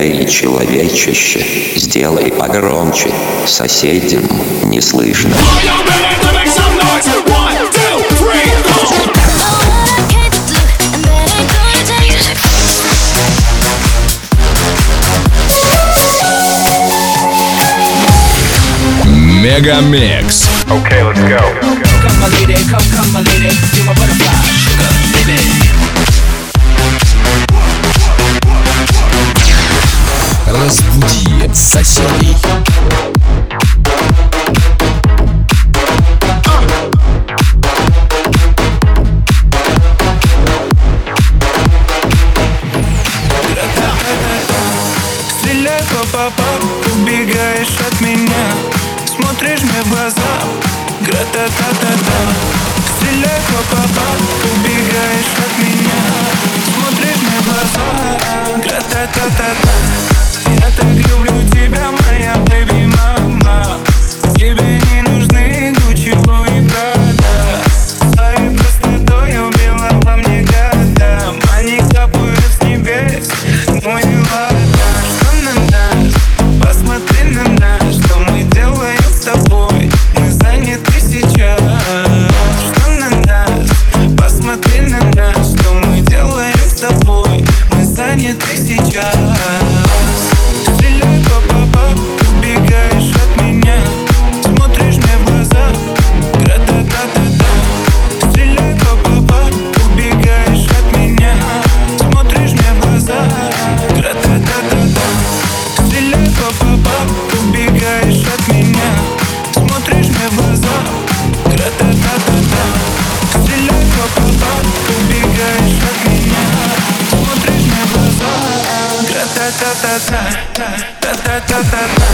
Эй, человечище, сделай погромче, соседям не слышно. Мегамикс. Okay, let's go. Come my lady, come my lady, you're my butterfly, sugar, baby. Разбуди соседей. Стреляй, папа, убегаешь от меня, смотришь мне в глаза, гра-та-та-та-та. Стреляй, папа, убегаешь от меня, смотришь мне в глаза, гра-та-та-та-та. Я так люблю тебя, моя бэби-мама. Тебе не нужны Гуччи, Луи, Прада. Своей простотой убила во мне года. Они капают с небес, мой ладно. Что на нас? Посмотри на нас. Что мы делаем с тобой? Мы заняты сейчас. Что на нас? Посмотри на нас. Что мы делаем с тобой? Мы заняты сейчас. Стреляй, папа, убегаешь от меня, смотришь мне в глаза, гра-та-та-та-та. Стреляй, папа, убегаешь от меня, смотришь мне в глаза, гра-та-та-та-та. Стреляй, папа, убегаешь от меня, смотришь мне в глаза, гра-та-та-та-та. Стреляй, папа, убегаешь от меня, смотришь мне в глаза, гра-та-та-та-та. Та-та-та-та-та.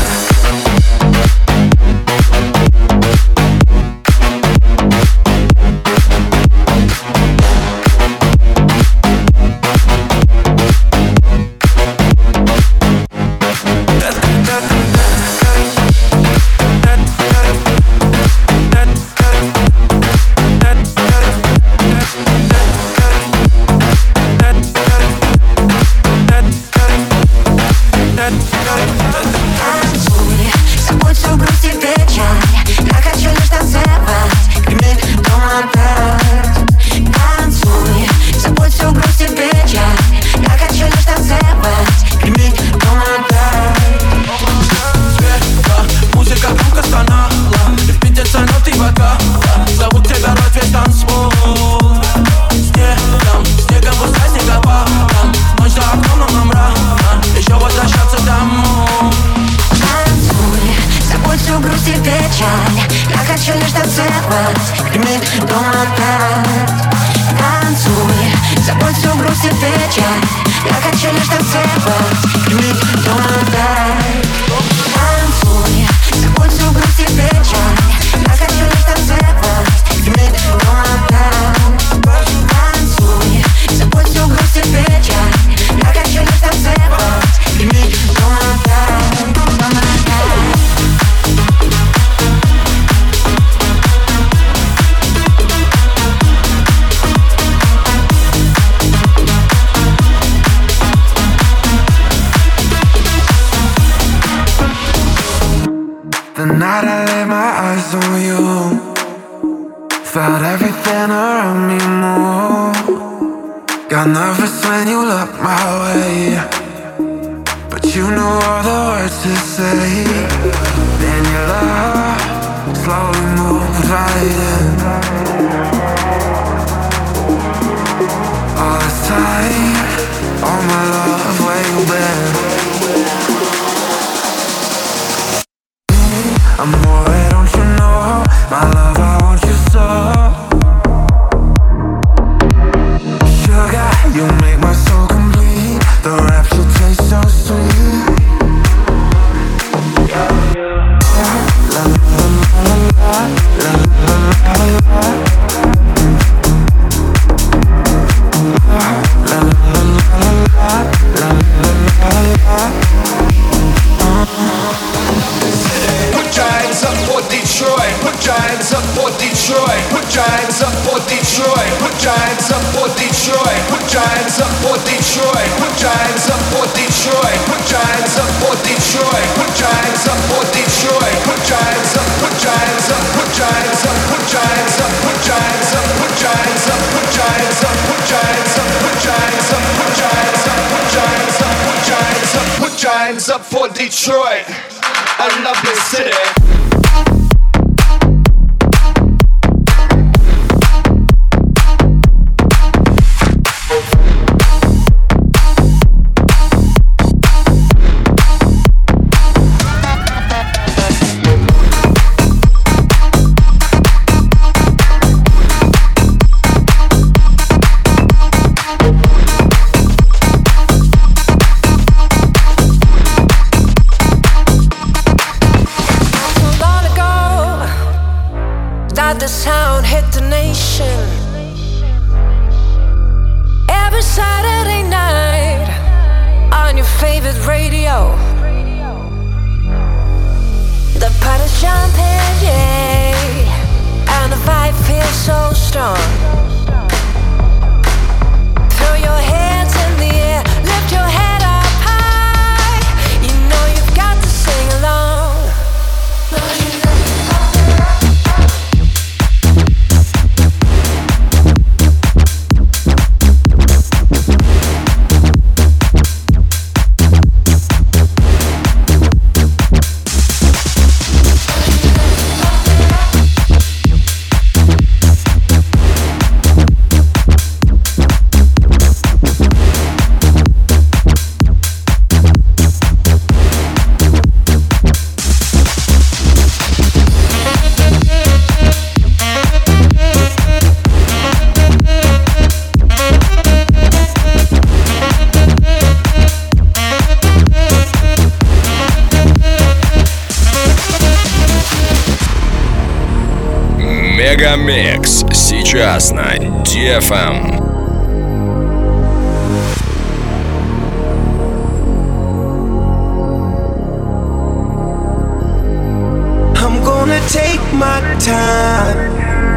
The night I laid my eyes on you, felt everything around me move. Got nervous when you looked my way, but you knew all the words to say. Then your love slowly moved right in. All this time, all my love, where you been? Amore, don't you know, my love, I want you so. Sugar, you make my soul complete. The rapture tastes so sweet. La la la la la la la la la. La la la la la la la. Put your hands up for Detroit. Put your hands up for Detroit. Put your hands up for Detroit. Put your hands up for Detroit. Put your hands up for Detroit. Put your hands up for Detroit. Put your your hands up for Detroit, a lovely city. The sound hit the nation every Saturday night on your favorite radio. The party's jumping, yeah, and the vibe feels so strong. Throw your hands in the air, lift your head up high. You know you've got to sing along. Мегамикс сейчас на DFM. I'm gonna take my time.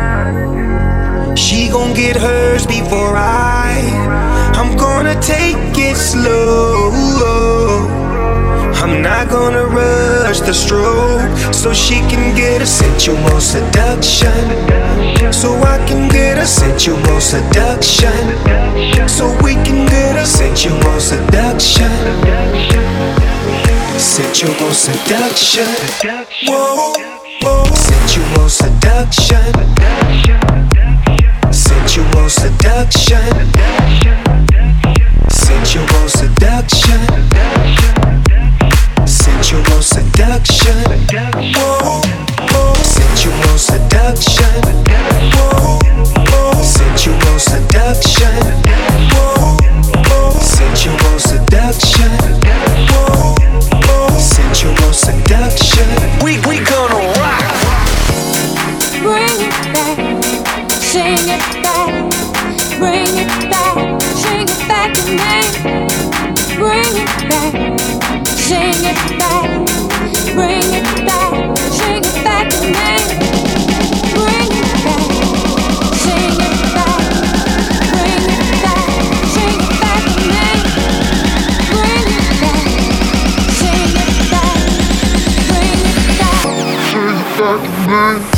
She gon' get hers before I'm gonna take it slow. I'm not gonna rush the stroke, so she can get a sensual seduction, so I can get a sensual seduction, so we can get a sensual seduction, sensual seduction. Whoa, whoa, sensual seduction, sensual seduction, sensual seduction. Sensual seduction, whoa, whoa. Sensual seduction, whoa, whoa. Sensual seduction, whoa, whoa. Sensual seduction, whoa, whoa. Sensual seduction. We gonna rock. Bring it back, sing it back, bring it back, sing it back to me. Bring it back, sing it back, bring it back, sing it back to me. Bring it back, sing it back, bring it back, sing it back to me. Bring it back, sing it back, bring it back, sing it back to me.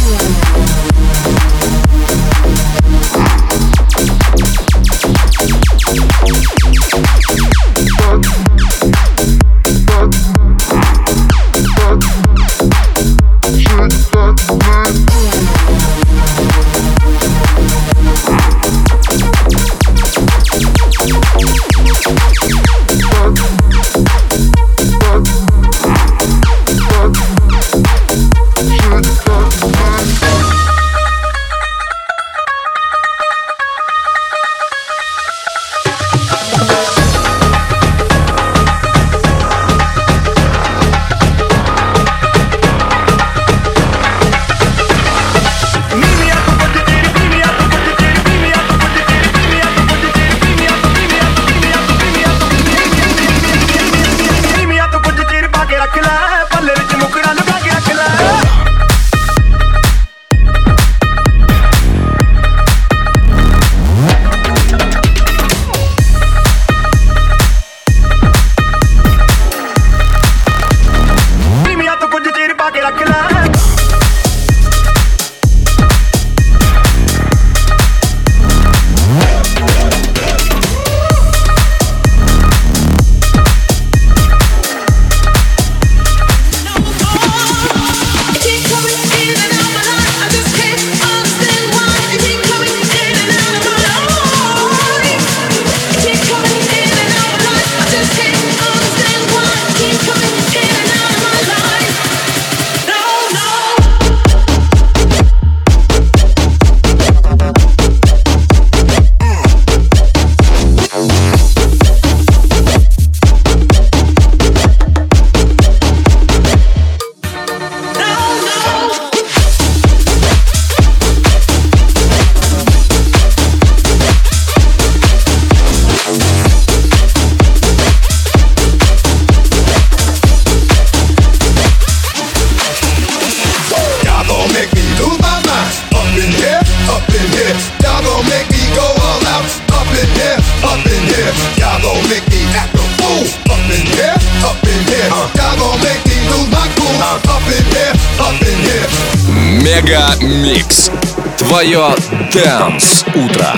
Мега Микс. Твое Dance утро.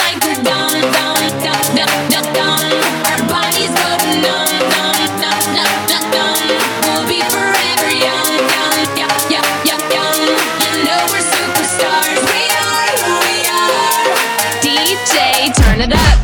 like we're done, done, done, done, done, done. Our bodies go numb, numb, numb, numb, numb, numb. We'll be forever young, young, young, young, young, young. You know we're superstars. We are who we are. DJ, turn it up.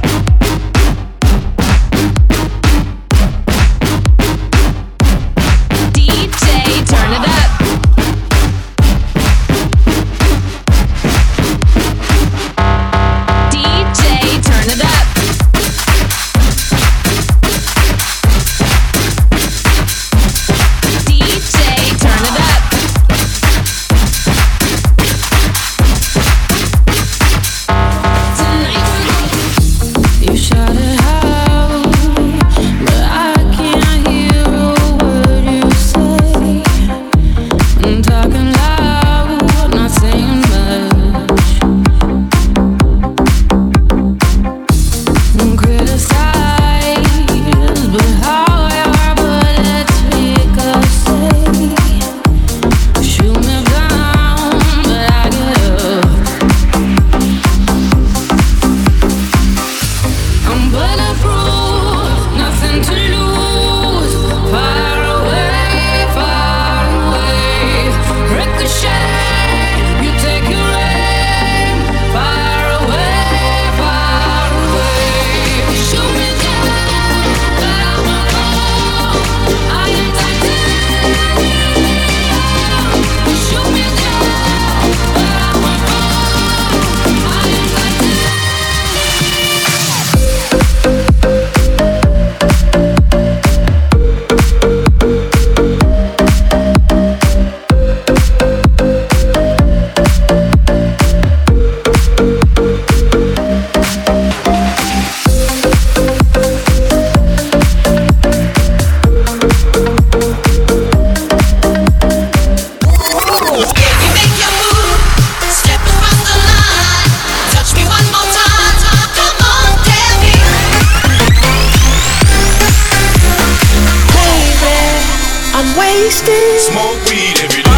Smoke weed every day.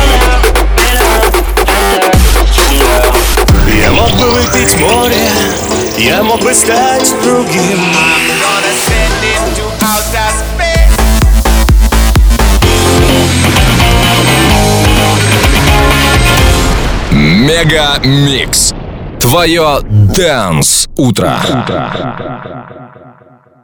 Я мог бы выпить море, я мог бы стать другим. I'm gonna send him to outer space. Мега Микс. Твое Dance утро.